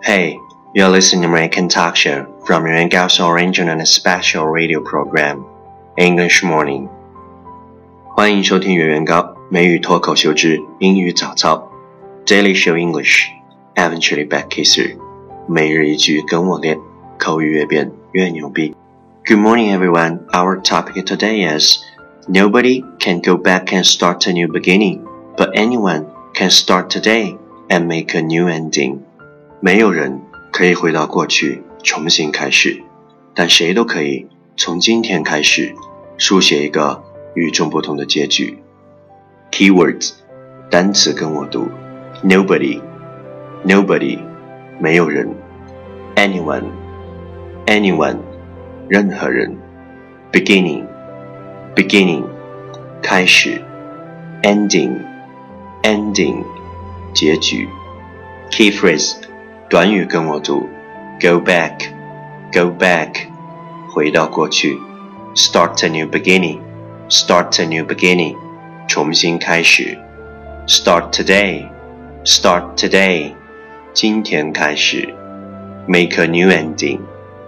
Hey, you're listening to American Talk Show from Yuan Gao's original and special radio program, English Morning. 欢迎收听袁元高美语脱口秀之英语早操 Daily Show English, eventually back kisser. 每日一句跟我练，口语越变越牛逼。Good morning, everyone. Our topic today is Nobody can go back and start a new beginning, but anyone can start today and make a new ending. 没有人可以回到过去重新开始，但谁都可以从今天开始书写一个与众不同的结局。Keywords 单词跟我读 Nobody 没有人 Anyone 任何人 Beginning 开始 Ending 结局 Key phrase 短语跟我读 Go back 回到过去 Start a new beginning 重新开始 Start today 今天开始 Make a new ending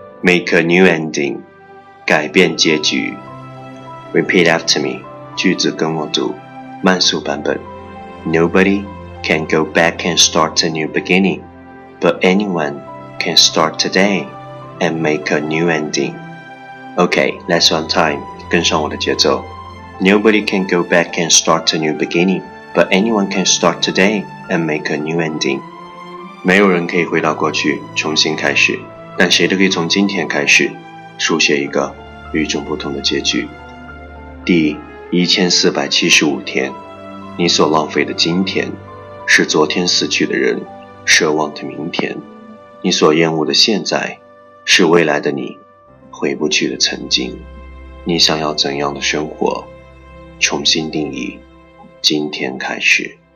改变结局 Repeat after me 句子跟我读慢速版本 Nobody can go back and start a new beginning, but anyone can start today and make a new ending. Okay, let's one time 跟上我的节奏 Nobody can go back and start a new beginning, but anyone can start today and make a new ending. 没有人可以回到过去重新开始，但谁都可以从今天开始书写一个与众不同的结局。第1475天，你所浪费的今天是昨天死去的人奢望的明天，你所厌恶的现在是未来的你回不去的曾经。你想要怎样的生活？重新定义，今天开始。